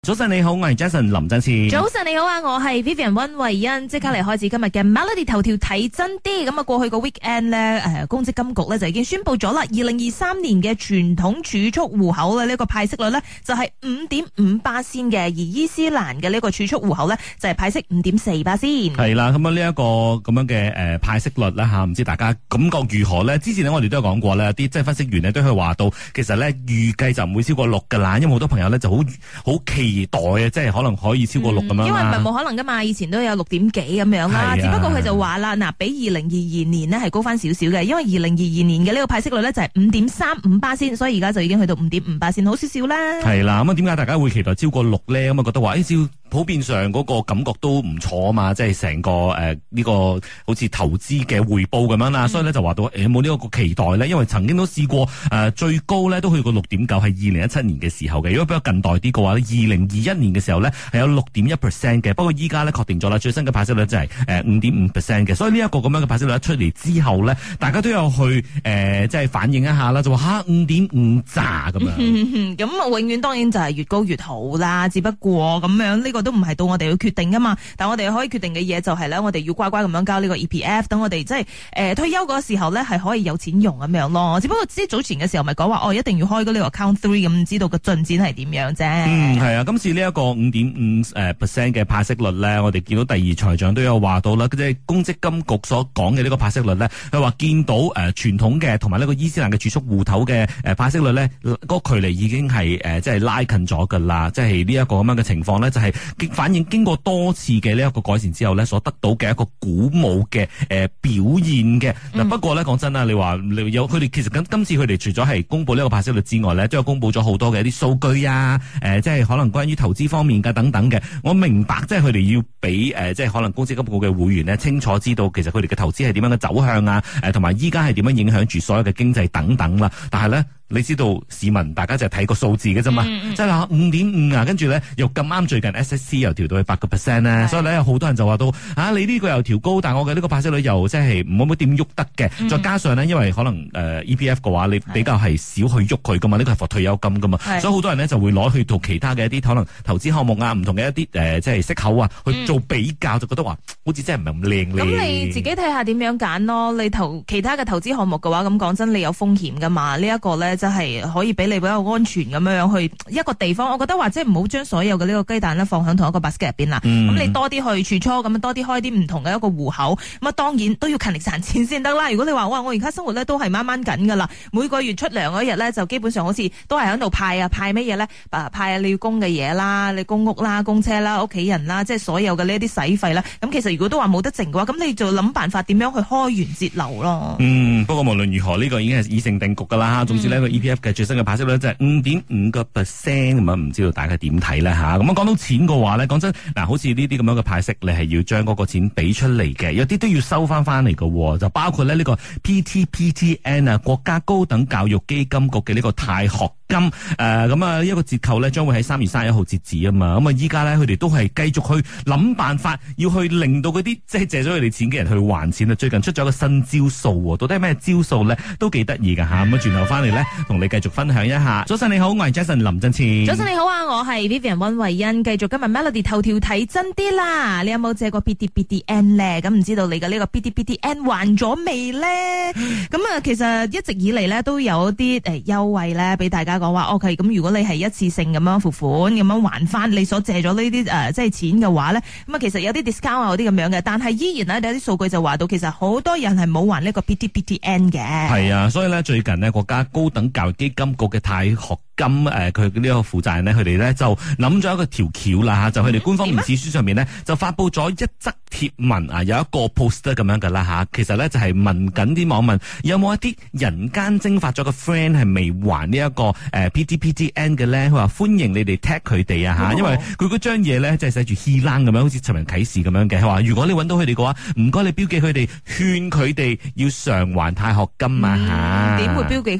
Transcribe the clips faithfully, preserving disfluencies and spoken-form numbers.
早晨你好，我係 Jason 林振次。 早晨你好啊，我係 Vivian 溫慧欣。即刻嚟開始今日嘅 Melody 頭條睇真啲。咁啊，過去個 weekend 咧，誒，公積金局咧就已經宣布咗啦，二零二三年嘅傳統儲蓄戶口咧呢個派息率咧就係五點五巴仙嘅，而伊斯蘭嘅呢個儲蓄戶口咧就係派息五點四巴仙。 係啦，咁啊呢一個咁樣嘅誒派息率啦吓，唔知大家感覺如何咧？之前咧我哋都有講過咧，啲即係分析員咧都係話到，其實咧預計就唔會超過六噶啦，因為好多朋友咧就好好期待啊，即係可能可以超過六咁樣、嗯、 因為唔係冇可能噶嘛，以前都有六點幾咁樣啦。啊、只不過佢就話啦，嗱，比二零二二年呢係高翻少少嘅，因為二零二二年嘅呢個派息率咧就係五點三五巴仙，所以而家就已經去到五點五巴仙，好少少啦。係啦， 咁啊點解大家會期待超過六咧？咁啊覺得話誒，照、哎、普遍上嗰個感覺都唔錯啊嘛，即係成個誒呢、呃這個好似投資嘅回報咁樣啦，嗯、所以咧就話到誒冇呢個期待咧，因為曾經都試過誒、呃、最高咧都去過六點九，係二零一七年嘅時候嘅。如果比較近代啲嘅話咧，二零二一年嘅時候咧係有六點一 percent 嘅，不過依家咧確定咗啦，最新嘅派息率就係誒五點五 percent 嘅，所以呢一個咁樣嘅派息率一出嚟之後咧，大家都有去誒、呃、即係反映一下啦，就話吓五點五咋咁樣，咁、 嗯、永遠當然就係越高越好啦，只不過咁樣呢、這個都唔係到我哋去決定噶嘛，但我哋可以決定嘅嘢就係咧，我哋要乖乖咁樣交呢個 E P F， 等我哋即係誒退休嗰個時候咧係可以有錢用咁樣咯。只不過之早前嘅時候咪講話哦，一定要開嗰呢個 account three 咁，知道個進展係點樣啫。 嗯，係啊，今次呢一個五點五誒 percent 嘅派息率咧，我哋見到第二財長都有話到啦，即係公積金局所講嘅呢個派息率咧，佢話見到誒傳統嘅同埋呢個伊斯蘭嘅儲蓄戶頭嘅誒派息率咧，嗰個距離已經係誒即係拉近咗噶啦，即係呢一個咁樣嘅情況咧，就係反映經過多次嘅呢一個改善之後咧，所得到嘅一個鼓舞嘅誒表現嘅。嗱、嗯，不過咧講真啦，你話你有佢哋其實今今次佢哋除咗係公布呢個派息率之外咧，都有公布咗好多嘅一啲數據啊，誒、呃、即係可能關於投資方面嘅等等嘅。我明白即係佢哋要俾誒、呃、即係可能公積金局嘅會員咧清楚知道其實佢哋嘅投資係點樣嘅走向啊，誒同埋依家係點樣影響住所有嘅經濟等等啦。但係咧，你知道市民大家就係睇個數字嘅啫嘛，即係話五點五啊，跟住咧又咁啱最近 S S C 又調到去八個 percent 咧，所以咧有好多人就話到啊，你呢個又調高，但係我嘅呢個派息率又即係唔會點喐得嘅。嗯、再加上呢，因為可能誒、呃、E P F 嘅話，你比較係少去喐佢噶嘛，呢個係for退休金噶嘛，所以好多人呢就會攞去同其他嘅一啲可能投資項目啊，唔同嘅一啲誒、呃、即係息口啊去做比較，嗯、就覺得話好似真係唔係咁靚咧。 咁你自己睇下點樣揀咯？你投其他嘅投資項目嘅話，咁講真，你有風險噶嘛？呢、這、一個咧，真係可以俾你比較安全咁樣樣去一個地方。我覺得話即係唔好將所有嘅呢個雞蛋咧放喺同一個 basket 入邊啦。咁、嗯、你多啲去儲蓄，咁多啲開啲唔同嘅一個戶口。咁啊，當然都要勤力賺錢先得啦。如果你話哇，我而家生活咧都係掹掹緊噶啦，每個月出糧嗰日咧就基本上好似都係喺度派啊派乜嘢咧？派啊你要供嘅嘢啦，你供屋啦、供車啦、屋企人啦，即係所有嘅呢一啲使費啦。咁其實如果都話冇得剩嘅話，咁你就諗辦法點樣去開源節流咯。 嗯，不過無論如何呢、這個已經係已成定局噶啦。總之呢個 E P F 嘅最新嘅派息率就係五點五個 percent 咁啊，唔知道大家點睇咧吓？咁啊講到錢嘅話咧，講真嗱，好似呢啲咁樣嘅派息，你係要將嗰個錢俾出嚟嘅，有啲都要收翻翻嚟嘅，就包括咧呢個 P T P T N 啊，國家高等教育基金局嘅呢個貸學金誒，咁啊一個折扣咧，將會喺三月三十一號截止啊嘛。咁啊依家咧佢哋都係繼續去諗辦法，要去令到嗰啲即係借咗佢哋錢嘅人去還錢啊。最近出咗一個新招數，到底係咩招數咧？都幾得意噶吓。咁啊轉頭翻嚟咧，同你繼續分享一下。早晨你好，我係 Jason 林振前。 早晨你好啊，我係 Vivian 溫慧欣。繼續今日 Melody 頭條睇真啲啦。你有冇借過 P T P T N 咧？咁唔知道你嘅呢個 P T P T N 還咗未咧？咁啊，其實一直以嚟咧都有啲誒優惠咧，俾大家講話 OK。咁如果你係一次性咁樣付款，咁樣還翻你所借咗呢啲誒即係錢嘅話咧，咁啊其實有啲 discount 啊，有啲咁樣嘅，但係依然咧有啲數據就話到，其實好多人係冇還呢個 P T P T N 嘅。係啊，所以咧最近呢，國家高等教育基金局嘅貸學金誒，佢呢個負責人呢，佢哋咧就諗咗一個條橋啦吓，就佢哋官方面子書上面呢，就發佈咗一則貼文啊，有一個 poster 咁樣噶啦吓，其實咧就係問緊啲網民有冇一啲人間蒸發咗嘅 friend 係未還呢一個誒 P T P T N 嘅咧，佢話歡迎你哋 tag 佢哋啊吓，因為佢嗰張嘢咧即係寫住 he 冷咁樣，好似尋人啟事咁樣嘅，佢話如果你揾到佢哋嘅話，唔該你標記佢哋，勸佢哋要償還貸學金啊吓。 點、嗯、會標記佢哋啊？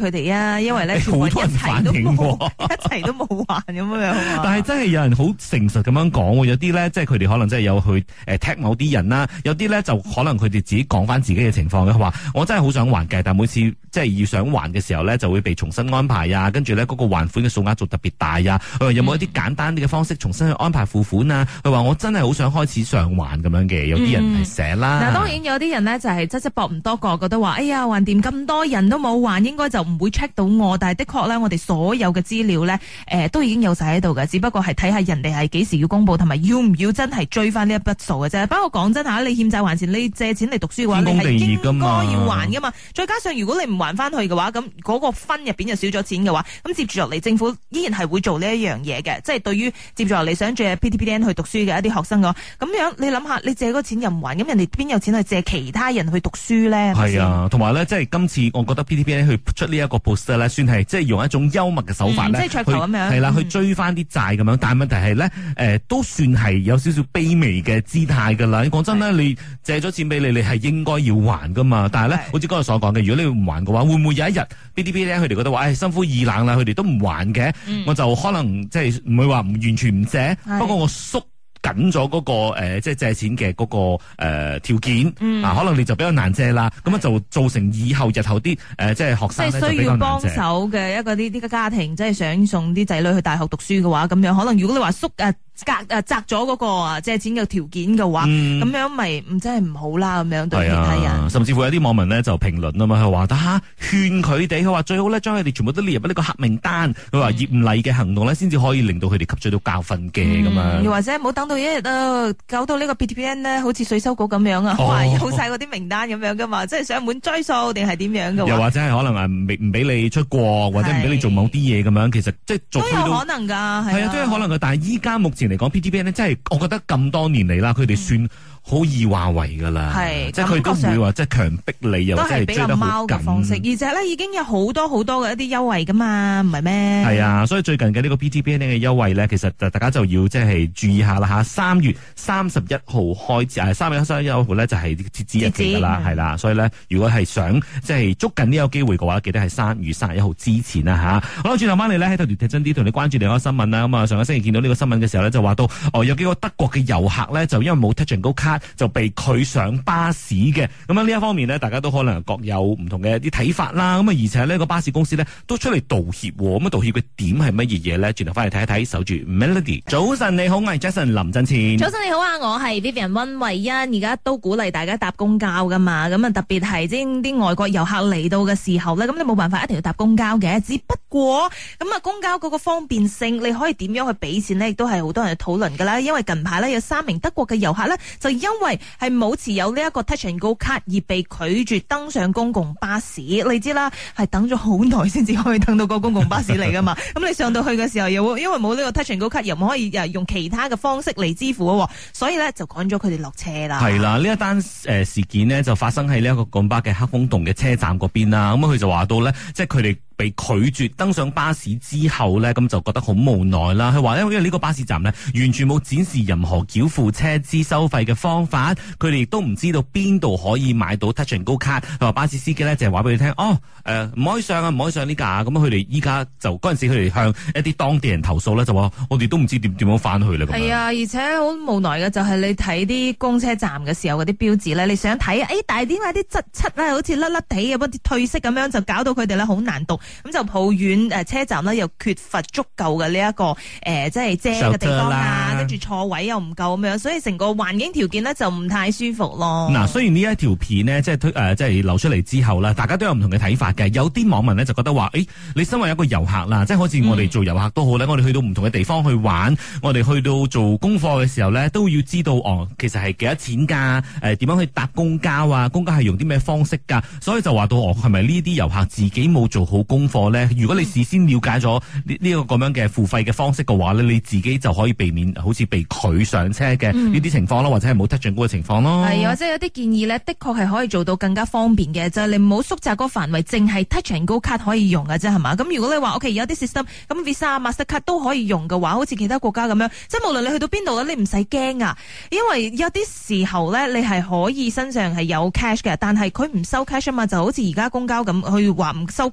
啦，因為咧好多人反映喎， 一齊都冇還咁樣。 但係真係有人好誠實咁樣講喎，有啲咧即係佢哋可能真係有去誒踢某啲人啦，有啲咧就可能佢哋自己講翻自己嘅情況嘅，話我真係好想還嘅，但每次即係要想還嘅時候咧，就會被重新安排啊，跟住咧嗰個還款嘅數額做特別大啊。佢話有冇一啲簡單啲嘅方式重新去安排付款啊？佢話我真係好想開始償還咁樣嘅，有啲人係寫啦。 嗱、嗯，當然有啲人咧就係側側膊唔多覺，覺得話哎呀還掂咁多人都冇還，應該就唔會 check 到我。但係的確咧，我哋所有嘅資料咧，誒、呃、都已經有晒喺度嘅，只不過係睇下人哋係幾時要公布，同埋要唔要真係追翻呢一筆數嘅啫。不過講真吓，你欠債還錢，你借錢嚟讀書嘅話，你係應該要還噶嘛。再加上如果你唔還翻去嘅話，咁嗰個分入邊就少咗錢嘅話，咁接住落嚟政府依然係會做呢一樣嘢嘅，即係對於接住落嚟想借 P T P T N 去讀書嘅一啲學生嘅話，咁樣你諗下，你借嗰個錢又唔還，咁人哋邊有錢去借其他人去讀書咧？ 係啊，同埋咧，即係今次我覺得 P T P N 去出呢一個 poster 咧，算係即係用一種幽默嘅手法咧、 嗯，即係噱頭咁樣， 係啦， 嗯、 去追翻啲債咁樣。但係問題係咧，誒、呃、都算係有少少卑微嘅姿態㗎啦。你講真咧，你借咗錢俾你，你係應該要還㗎嘛。但係咧，好似剛才所講嘅，如果你唔還嘅話，會唔會有一日 P T P N 佢哋覺得話，誒、哎、心灰意冷啦，佢哋都唔還嘅、嗯，我就可能即係唔會話唔完全唔借，不過我縮緊咗嗰個誒、呃，即係借錢嘅嗰、那個誒、呃、條件、嗯，啊，可能你就比較難借啦，咁樣就造成以後日後啲誒、呃，即係學生咧就比較難借。需要幫手嘅一個啲啲家庭，即係想送啲仔女去大學讀書嘅話，咁樣可能如果你話縮誒。隔誒摘咗嗰個啊借錢嘅條件嘅話，咁、嗯、樣咪唔真係唔好啦，咁樣對其他人、啊。甚至乎有啲網民咧就評論啊嘛，佢話得吓勸佢哋，佢話最好咧將佢哋全部都列入呢個黑名單。佢話嚴厲嘅行動咧，先至可以令到佢哋吸取到教訓嘅咁樣。 又或者唔好等到一日啊，搞到呢個 P T P N 咧，好似稅收局咁樣啊，哇、哦、有晒嗰啲名單咁樣噶嘛，即係上門追數定係點樣嘅？ 又或者係可能啊，唔唔俾你出國，或者唔俾你做某啲嘢咁樣，其實即係做都有可能㗎，係啊， 都有可能㗎。但係依家目前嚟講 P T P N 咧，真係我覺得咁多年嚟啦，佢哋算好易話為噶啦，即係佢都唔會話即係強迫你，又或者係追得好緊嘅方式，而且咧已經有好多好多嘅一啲優惠噶嘛，唔係咩？係啊，所以最近嘅呢個 P T P N 嘅優惠咧，其實大家就要即係注意下啦吓。三月三十一號開始，誒，三月三十一號咧就係截止日期噶啦，係啦。所以咧，如果係想即係捉緊呢個機會嘅話，記得係三月三十一號之前啦吓。好啦，轉頭翻嚟咧喺度睇真啲，同你關注另一個新聞啦。咁啊，上個星期見到呢個新聞嘅時候咧，就話到哦，有幾個德國嘅遊客咧，就因為冇 Touch and Go 卡，就被拒上巴士嘅。咁啊呢一方面呢，大家都可能各有唔同嘅一啲睇法啦。咁啊而且呢個巴士公司呢，都出嚟道歉。咁啊道歉嘅點係乜嘢嘢咧？轉頭翻嚟睇一睇，守住 Melody。早晨你好，我係 Jason 林振前。早晨你好啊，我係 Vivian 溫慧欣。而家都鼓勵大家搭公交噶嘛。咁啊特別係即係啲外國遊客嚟到嘅時候咧，咁你冇辦法一定要搭公交嘅。只不過咁啊公交嗰個方便性，你可以點樣去俾錢呢？亦都係好多人討論噶啦。因為近排呢，有三名德國嘅遊客呢，就因為係冇持有呢一個 Touch and Go 卡而被拒絕登上公共巴士。你知啦，係等咗好耐先至可以登到個公共巴士嚟噶嘛。咁你上到去嘅時候，又因為冇呢個 Touch and Go 卡，又唔可以用其他嘅方式嚟支付，所以呢，就趕咗佢哋落車啦。係啦，呢一單誒事件呢，就發生喺呢一個港巴嘅黑風洞嘅車站嗰邊啦。咁佢就話到呢，即係佢哋被拒絕登上巴士之後呢，咁就覺得好無奈啦。佢話因為呢個巴士站呢，完全冇展示任何繳付車資收費嘅方法，佢哋亦都唔知道邊度可以買到 Touch and Go 卡。佢話巴士司機呢，就係話俾佢聽，哦，誒、呃、唔可以上啊，唔可以上呢架。咁佢哋依家就嗰陣時佢哋向一啲當地人投訴呢，就話我哋都唔知點點樣翻去啦。係啊，而且好無奈嘅就係你睇啲公車站嘅時候嗰啲標誌呢，你想睇，誒、哎，但係點解啲質漆咧好似甩甩地咁，啲褪色咁樣，就搞到佢哋咧好難讀。咁就抱怨誒車站呢，又缺乏足夠嘅呢一個誒、呃、即係遮嘅地方啊，跟住坐位又唔夠咁樣，所以成個環境條件呢，就唔太舒服咯。嗱，雖然呢一條片呢，即係推誒即係流出嚟之後呢，大家都有唔同嘅睇法嘅。有啲網民呢，就覺得話，誒、欸，你身為一個遊客啦，即係好似我哋做遊客都好咧、嗯，我哋去到唔同嘅地方去玩，我哋去到做功課嘅時候呢，都要知道哦，其實係幾多錢㗎？誒、呃，點樣去搭公交啊？公交係用啲咩方式㗎？所以就話到哦，係咪呢啲遊客自己冇做好功課呢？如果你事先了解咗呢呢個咁樣嘅付費嘅方式嘅話呢，你自己就可以避免好似被拒上車嘅呢啲情況咯、嗯，或者係冇 Touch and Go嘅情況咯。係，或者有啲建議呢，的確係可以做到更加方便嘅，就係、是、你唔好縮窄嗰個範圍，淨係 Touch and Go 卡可以用嘅啫，係嘛？咁如果你話 OK 有啲 system，咁 Visa、Mastercard 都可以用嘅話，好似其他國家咁樣，即係無論你去到邊度咧，你唔使驚啊，因為有啲時候咧，你係可以身上係有 cash 嘅，但係佢唔收 cash 啊嘛，就好似而家公交咁，佢話唔收 cash 嘅，啲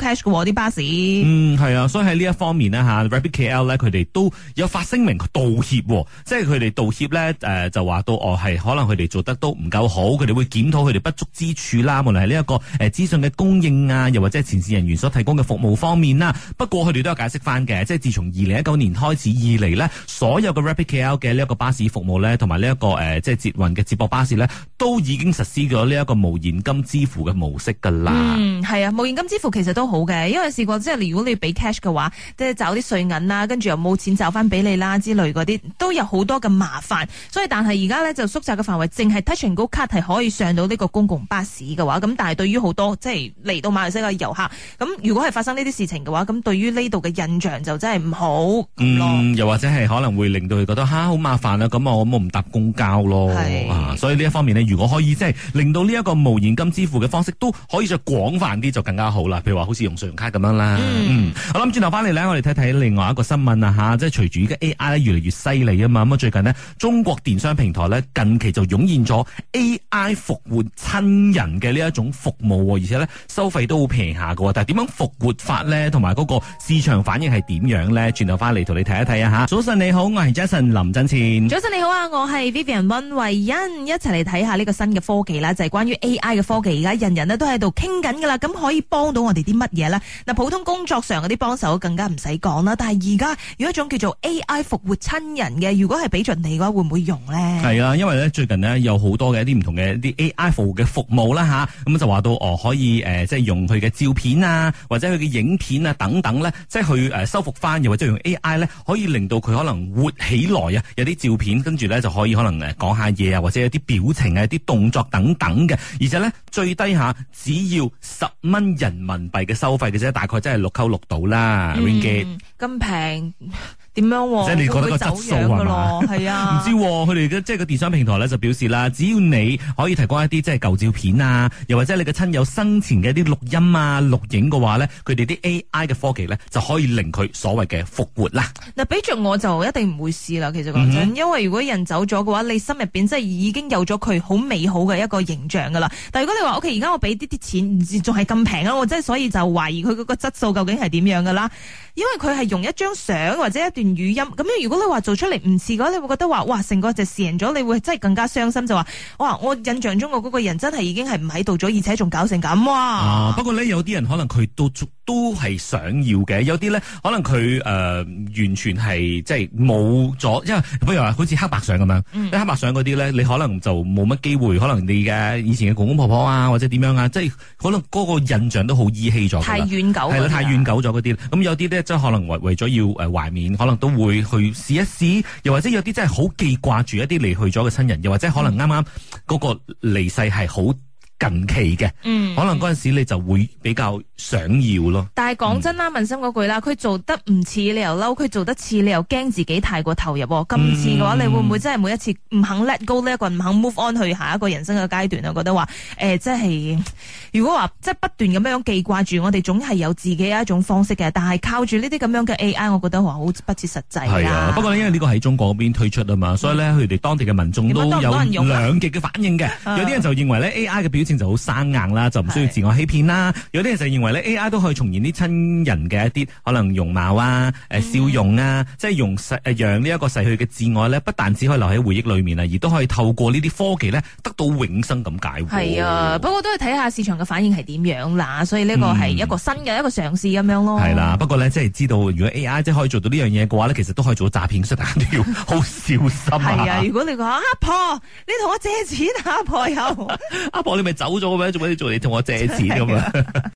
啲巴士。 嗯，係啊，所以喺呢一方面呢，吓 Rapid K L 咧，佢哋都有發聲明道歉，即係佢哋道歉咧，誒、呃、就話到哦係可能佢哋做得都唔夠好，佢哋會檢討佢哋不足之處啦，無論係呢一個誒資訊嘅供應啊，又或者係前線人員所提供嘅服務方面啦。不過佢哋都有解釋翻嘅，即係自從二零一九年開始以嚟呢，所有嘅 Rapid K L 嘅呢一個巴士服務咧，同埋呢一個誒、呃、即係捷運嘅接駁巴士咧，都已經實施咗呢一個無現金支付嘅模式噶啦。 嗯，係啊，無現金支付其實都好嘅，因為試過即係如果你俾 cash 嘅話，即係找啲碎銀啦，跟住又冇錢找翻俾你啦之類嗰啲，都有好多嘅麻煩。所以但係而家咧就縮窄嘅範圍，淨係 Touch 'n Go 卡係可以上到呢個公共巴士嘅話，咁但係對於好多即係嚟到馬來西亞嘅遊客，咁如果係發生呢啲事情嘅話，咁對於呢度嘅印象就真係唔好咯。 嗯，又或者係可能會令到佢覺得吓好麻煩啊，咁我我唔搭公交咯。啊，所以呢一方面呢，如果可以即係令到呢一個無現金支付嘅方式都可以再廣泛啲，就更加好啦。譬如話好似用信用卡咁樣啦。嗯，嗯我諗轉頭翻嚟咧，我哋睇睇另外一個新聞啊吓，即係隨住而家 A I 咧越嚟越犀利啊嘛。咁啊最近呢，中國電商平台咧近期就湧現咗 A I 復活親人嘅呢一種服務，而且咧收費都好平下㗎。但係點樣復活法咧，同埋嗰個市場反應係點樣咧？轉頭翻嚟同你睇一睇啊吓。早晨你好，我係 Jason 林振前。 早晨你好啊，我係 Vivian 溫慧欣，一齊嚟睇下呢個新嘅科技啦，就係、是、關於 A I 嘅科技。而家人人咧都喺度傾緊噶啦，咁可以幫到我哋啲乜嘢咧？嗱，普通工作上嗰啲幫手更加唔使講啦。但係而家有一種叫做 A I 復活親人嘅，如果係俾盡你嘅話，會唔會用咧？ 係啊，因為咧最近呢，有好多嘅一啲唔同嘅一啲 A I 服務嘅服務啦吓，咁就話到哦可以誒、呃、即係用佢嘅照片啊，或者佢嘅影片啊等等咧，即係去誒修復翻，又或者用 A I 咧可以令到佢可能活起來啊，有啲照片跟住咧就可以可能誒講下嘢啊，或者有啲表情啊、啲動作等等嘅，而且咧最低下只要十蚊人民幣嘅收費嘅啫，大概真係六溝六到啦 Ringgit 咁平。點樣？ 即係你覺得個質素係嘛？ 係啊， 唔知佢哋嘅即係個電商平台咧就表示啦，只要你可以提供一啲即係舊照片啊，又或者你嘅親友生前嘅一啲錄音啊、錄影嘅話咧，佢哋啲 A I 嘅科技咧就可以令佢所謂嘅復活啦。嗱， 俾着我就一定唔會試啦。其實講真，嗯、因為如果人走咗嘅話，你心入邊即係已經有咗佢好美好嘅一個形象噶啦。但係如果你話 OK，而家我俾啲啲錢，仲係咁平啊，我真係所以就懷疑佢嗰個質素究竟係點樣噶啦。因為佢係用一張相或者一段語音，咁如果你話做出嚟唔似嘅話，你會覺得話哇，成個就蝕咗，你會真係更加傷心，就話哇，我印象中嘅嗰個人真係已經係唔喺度咗，而且仲搞成咁哇！ 啊，不過咧有啲人可能佢都都係想要嘅，有啲咧可能佢誒、呃、完全係即係冇咗，因為譬如話好似黑白相咁樣，嗯、黑白相嗰啲咧，你可能就冇乜機會，可能你嘅以前嘅公公婆婆啊，或者點樣啊，即係可能嗰個印象都好依稀咗， 太遠久係啦，太遠久咗嗰啲，咁有啲咧即係可能為為咗要誒懷緬，可能都會去試一試，又或者有啲真係好記掛住一啲離去咗嘅親人，又或者可能啱啱嗰個離世係好近期嘅，嗯，可能嗰陣時你就會比較想要咯。 但係講真啦，問心嗰句啦，佢做得唔似你又嬲，佢做得似你又驚自己太過投入。今次嘅話，嗯、你會唔會真係每一次唔肯 let go 呢一個，唔肯 move on 去下一個人生嘅階段啊？覺得話誒，即、呃、係如果話即係不斷咁樣記掛住，我哋總係有自己一種方式嘅。但係靠住呢啲咁樣嘅 A I，我覺得話好不切實際。 係啊，不過因為呢個喺中國嗰邊推出啊嘛，所以咧佢哋當地嘅民眾都有兩極嘅反應嘅。有啲人就認為咧 A I 嘅表情就好生硬啦，就唔需要自我欺騙啦。有啲人就認為咧 A I 都可以重現啲親人嘅一啲可能容貌啊、誒、呃、笑容啊，嗯、即係用誒讓呢一個逝去嘅摯愛咧，不但只可以留喺回憶裏面啊，而都可以透過呢啲科技咧得到永生咁解。 係啊，不過都係睇下市場嘅反應係點樣啦。所以呢個係一個新嘅、嗯、一個嘗試咁樣咯。係啦， 不過咧即係知道如果 A I 即係可以做到呢樣嘢嘅話咧，其實都可以做到詐騙，所以大家都要好小心啊。 係啊，如果你講阿婆，你同我借錢，阿婆又阿婆你咪走咗嘅咩？做咩做你同我借錢咁啊？